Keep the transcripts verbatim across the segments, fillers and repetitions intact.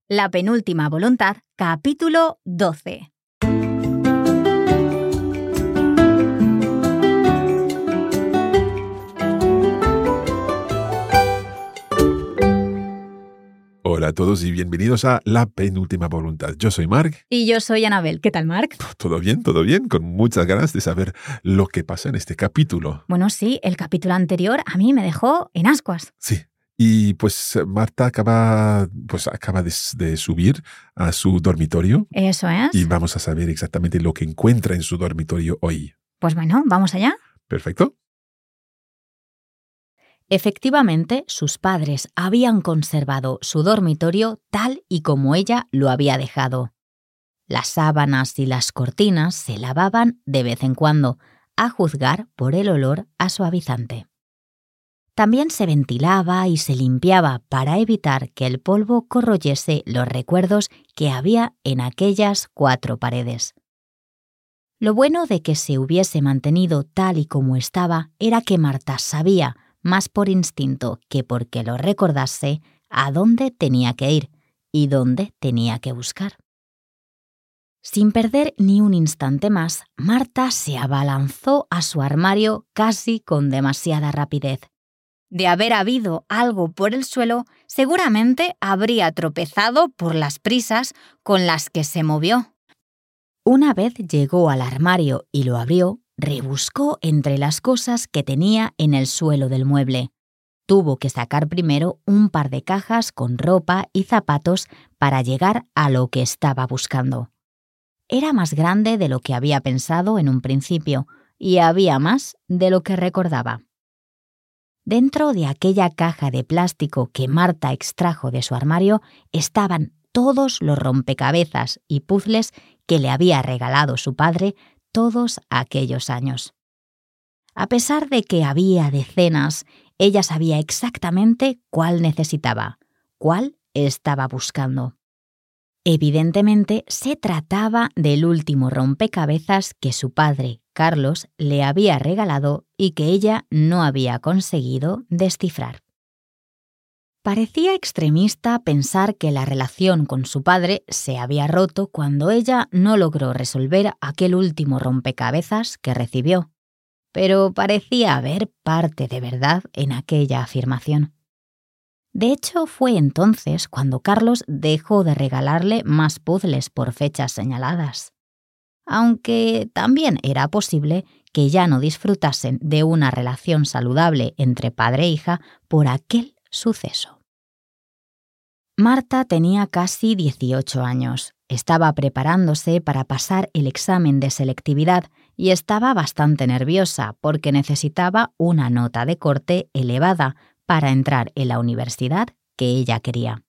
La penúltima voluntad, capítulo doce. Hola a todos y bienvenidos a La penúltima voluntad. Yo soy Mark. Y yo soy Anabel. ¿Qué tal, Mark? Todo bien, todo bien, con muchas ganas de saber lo que pasa en este capítulo. Bueno, sí, el capítulo anterior a mí me dejó en ascuas. Sí, y pues Marta acaba, pues acaba de, de subir a su dormitorio. Eso es. Y vamos a saber exactamente lo que encuentra en su dormitorio hoy. Pues bueno, ¿vamos allá? Perfecto. Efectivamente, sus padres habían conservado su dormitorio tal y como ella lo había dejado. Las sábanas y las cortinas se lavaban de vez en cuando, a juzgar por el olor a suavizante. También se ventilaba y se limpiaba para evitar que el polvo corroyese los recuerdos que había en aquellas cuatro paredes. Lo bueno de que se hubiese mantenido tal y como estaba era que Marta sabía, más por instinto que porque lo recordase, a dónde tenía que ir y dónde tenía que buscar. Sin perder ni un instante más, Marta se abalanzó a su armario casi con demasiada rapidez. De haber habido algo por el suelo, seguramente habría tropezado por las prisas con las que se movió. Una vez llegó al armario y lo abrió, rebuscó entre las cosas que tenía en el suelo del mueble. Tuvo que sacar primero un par de cajas con ropa y zapatos para llegar a lo que estaba buscando. Era más grande de lo que había pensado en un principio y había más de lo que recordaba. Dentro de aquella caja de plástico que Marta extrajo de su armario estaban todos los rompecabezas y puzles que le había regalado su padre todos aquellos años. A pesar de que había decenas, ella sabía exactamente cuál necesitaba, cuál estaba buscando. Evidentemente, se trataba del último rompecabezas que su padre, Carlos, le había regalado y que ella no había conseguido descifrar. Parecía extremista pensar que la relación con su padre se había roto cuando ella no logró resolver aquel último rompecabezas que recibió, pero parecía haber parte de verdad en aquella afirmación. De hecho, fue entonces cuando Carlos dejó de regalarle más puzzles por fechas señaladas. Aunque también era posible que ya no disfrutasen de una relación saludable entre padre e hija por aquel suceso. Marta tenía casi dieciocho años. Estaba preparándose para pasar el examen de selectividad y estaba bastante nerviosa porque necesitaba una nota de corte elevada para entrar en la universidad que ella quería.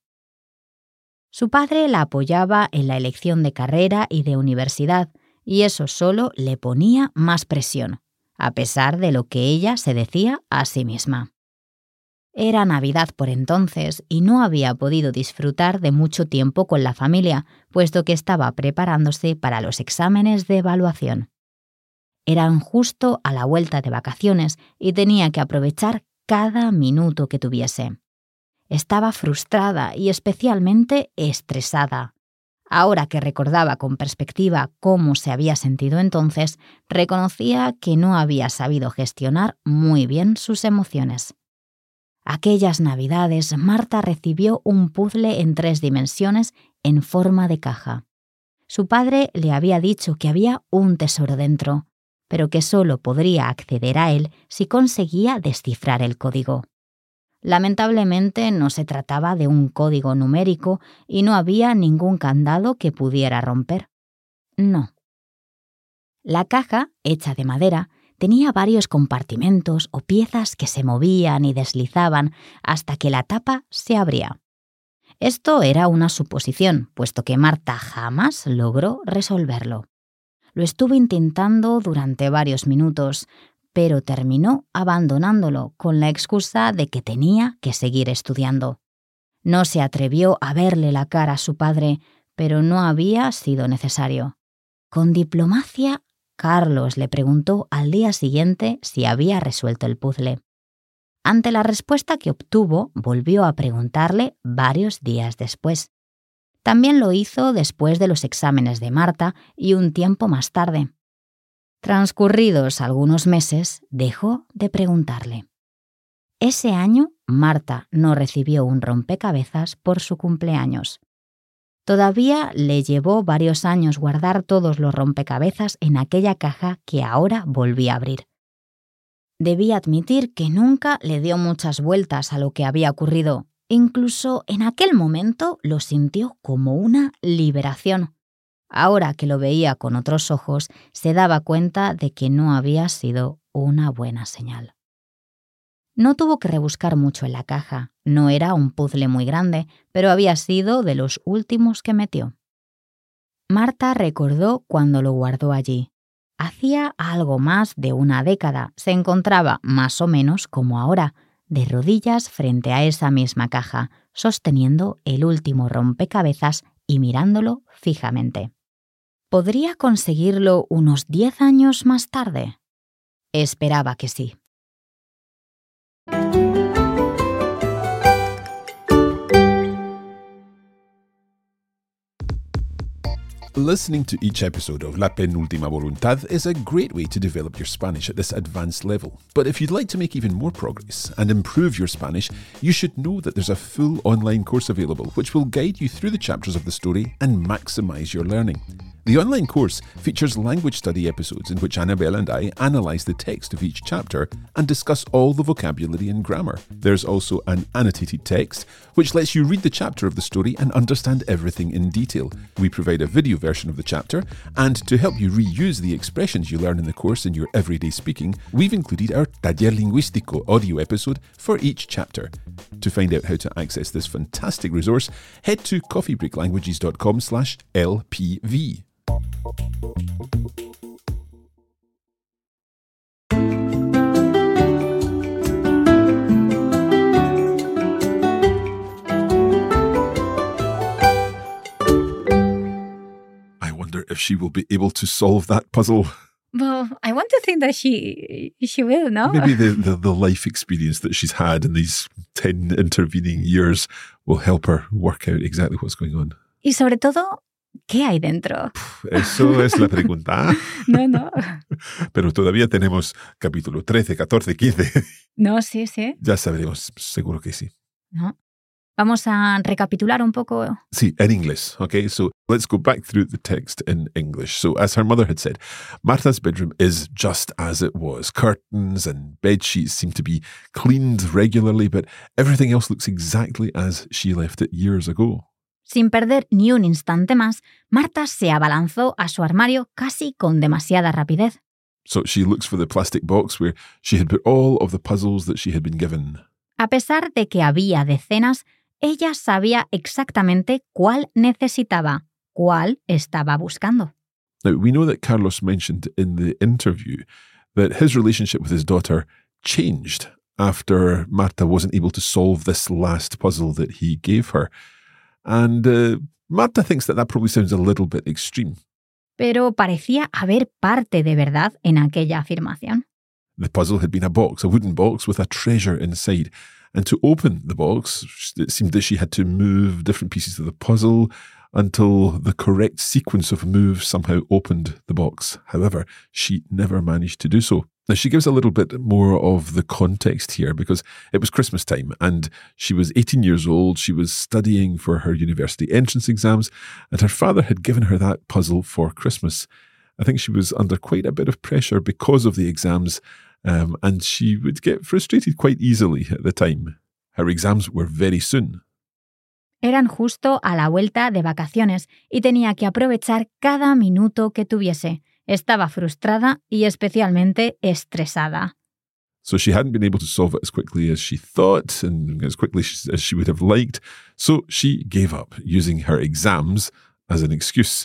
Su padre la apoyaba en la elección de carrera y de universidad, y eso solo le ponía más presión, a pesar de lo que ella se decía a sí misma. Era Navidad por entonces y no había podido disfrutar de mucho tiempo con la familia, puesto que estaba preparándose para los exámenes de evaluación. Eran justo a la vuelta de vacaciones y tenía que aprovechar cada minuto que tuviese. Estaba frustrada y especialmente estresada. Ahora que recordaba con perspectiva cómo se había sentido entonces, reconocía que no había sabido gestionar muy bien sus emociones. Aquellas Navidades, Marta recibió un puzzle en tres dimensiones en forma de caja. Su padre le había dicho que había un tesoro dentro, pero que solo podría acceder a él si conseguía descifrar el código. Lamentablemente no se trataba de un código numérico y no había ningún candado que pudiera romper. No. La caja, hecha de madera, tenía varios compartimentos o piezas que se movían y deslizaban hasta que la tapa se abría. Esto era una suposición, puesto que Marta jamás logró resolverlo. Lo estuvo intentando durante varios minutos, pero terminó abandonándolo con la excusa de que tenía que seguir estudiando. No se atrevió a verle la cara a su padre, pero no había sido necesario. Con diplomacia, Carlos le preguntó al día siguiente si había resuelto el puzzle. Ante la respuesta que obtuvo, volvió a preguntarle varios días después. También lo hizo después de los exámenes de Marta y un tiempo más tarde. Transcurridos algunos meses, dejó de preguntarle. Ese año, Marta no recibió un rompecabezas por su cumpleaños. Todavía le llevó varios años guardar todos los rompecabezas en aquella caja que ahora volvía a abrir. Debía admitir que nunca le dio muchas vueltas a lo que había ocurrido. Incluso en aquel momento lo sintió como una liberación. Ahora que lo veía con otros ojos, se daba cuenta de que no había sido una buena señal. No tuvo que rebuscar mucho en la caja. No era un puzzle muy grande, pero había sido de los últimos que metió. Marta recordó cuando lo guardó allí. Hacía algo más de una década. Se encontraba más o menos como ahora, de rodillas frente a esa misma caja, sosteniendo el último rompecabezas y mirándolo fijamente. ¿Podría conseguirlo unos diez años más tarde? Esperaba que sí. Listening to each episode of La Penúltima Voluntad is a great way to develop your Spanish at this advanced level. But if you'd like to make even more progress and improve your Spanish, you should know that there's a full online course available which will guide you through the chapters of the story and maximize your learning. The online course features language study episodes in which Annabelle and I analyse the text of each chapter and discuss all the vocabulary and grammar. There's also an annotated text which lets you read the chapter of the story and understand everything in detail. We provide a video version of the chapter, and to help you reuse the expressions you learn in the course in your everyday speaking, we've included our Taller Lingüístico audio episode for each chapter. To find out how to access this fantastic resource, head to coffeebreaklanguages.com slash LPV. I wonder if she will be able to solve that puzzle. Well, I want to think that she she will, no? Maybe the, the, the life experience that she's had in these ten intervening years will help her work out exactly what's going on. Y sobre todo, ¿qué hay dentro? Eso es la pregunta. No, no. Pero todavía tenemos capítulo trece, catorce, quince. No, sí, sí. Ya sabremos, seguro que sí. No. Vamos a recapitular un poco. Sí, en inglés. Okay, so let's go back through the text in English. So as her mother had said, Marta's bedroom is just as it was. Curtains and bed sheets seem to be cleaned regularly, but everything else looks exactly as she left it years ago. Sin perder ni un instante más, Marta se abalanzó a su armario casi con demasiada rapidez. So she looks for the plastic box where she had put all of the puzzles that she had been given. A pesar de que había decenas, ella sabía exactamente cuál necesitaba, cuál estaba buscando. Now, we know that Carlos mentioned in the interview that his relationship with his daughter changed after Marta wasn't able to solve this last puzzle that he gave her. And uh, Marta thinks that that probably sounds a little bit extreme. Pero parecía haber parte de verdad en aquella afirmación. The puzzle had been a box, a wooden box with a treasure inside. And to open the box, it seemed that she had to move different pieces of the puzzle until the correct sequence of moves somehow opened the box. However, she never managed to do so. Now, she gives a little bit more of the context here because it was Christmas time and she was eighteen years old. She was studying for her university entrance exams and her father had given her that puzzle for Christmas. I think she was under quite a bit of pressure because of the exams. Um, and she would get frustrated quite easily at the time. Her exams were very soon. Eran justo a la vuelta de vacaciones y tenía que aprovechar cada minuto que tuviese. Estaba frustrada y especialmente estresada. So she hadn't been able to solve it as quickly as she thought and as quickly as she would have liked. So she gave up, using her exams as an excuse.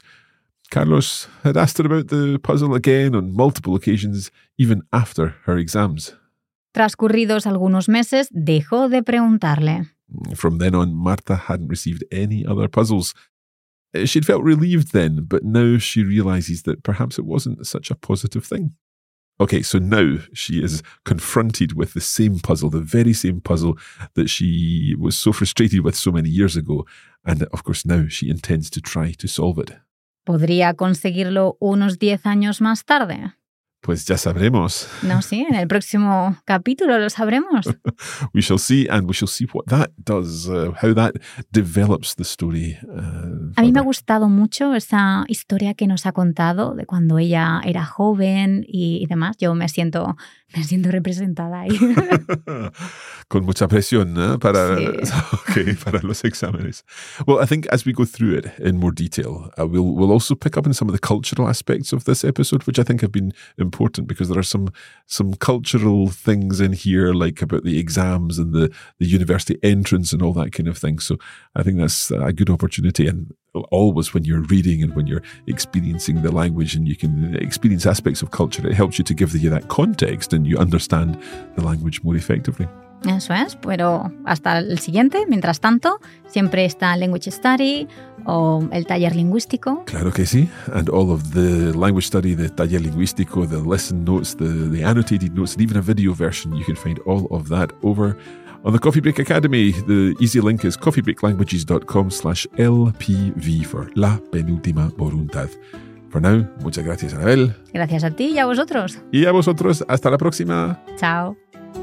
Carlos had asked her about the puzzle again on multiple occasions, even after her exams. Transcurridos algunos meses, dejó de preguntarle. From then on, Marta hadn't received any other puzzles. She'd felt relieved then, but now she realises that perhaps it wasn't such a positive thing. Okay, so now she is confronted with the same puzzle, the very same puzzle that she was so frustrated with so many years ago. And of course, now she intends to try to solve it. ¿Podría conseguirlo unos diez años más tarde? Pues ya sabremos. No, sí, en el próximo capítulo lo sabremos. We shall see, and we shall see what that does, uh, how that develops the story. Uh, A mí me ha gustado mucho esa historia que nos ha contado de cuando ella era joven y, y demás. Yo me siento, me siento representada ahí. Con mucha presión, ¿eh? Para, sí. okay, para los exámenes. Well, I think as we go through it in more detail, uh, we'll, we'll also pick up on some of the cultural aspects of this episode, which I think have been important because there are some some cultural things in here, like about the exams and the, the university entrance and all that kind of thing. So I think that's a good opportunity. And always when you're reading and when you're experiencing the language and you can experience aspects of culture, it helps you to give you that context and you understand the language more effectively. Eso es, pero hasta el siguiente, mientras tanto, siempre está Language Study o el taller lingüístico. Claro que sí, and all of the language study, the taller lingüístico, the lesson notes, the, the annotated notes, and even a video version, you can find all of that over on the Coffee Break Academy. The easy link is coffeebreaklanguages.com slash LPV for La Penúltima Voluntad. For now, muchas gracias, Anabel. Gracias a ti y a vosotros. Y a vosotros, hasta la próxima. Chao.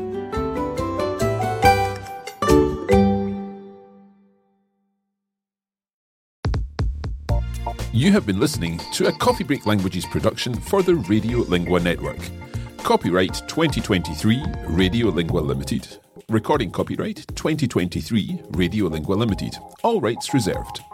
You have been listening to a Coffee Break Languages production for the Radiolingua Network. Copyright twenty twenty-three, Radiolingua Limited. Recording copyright twenty twenty-three, Radiolingua Limited. All rights reserved.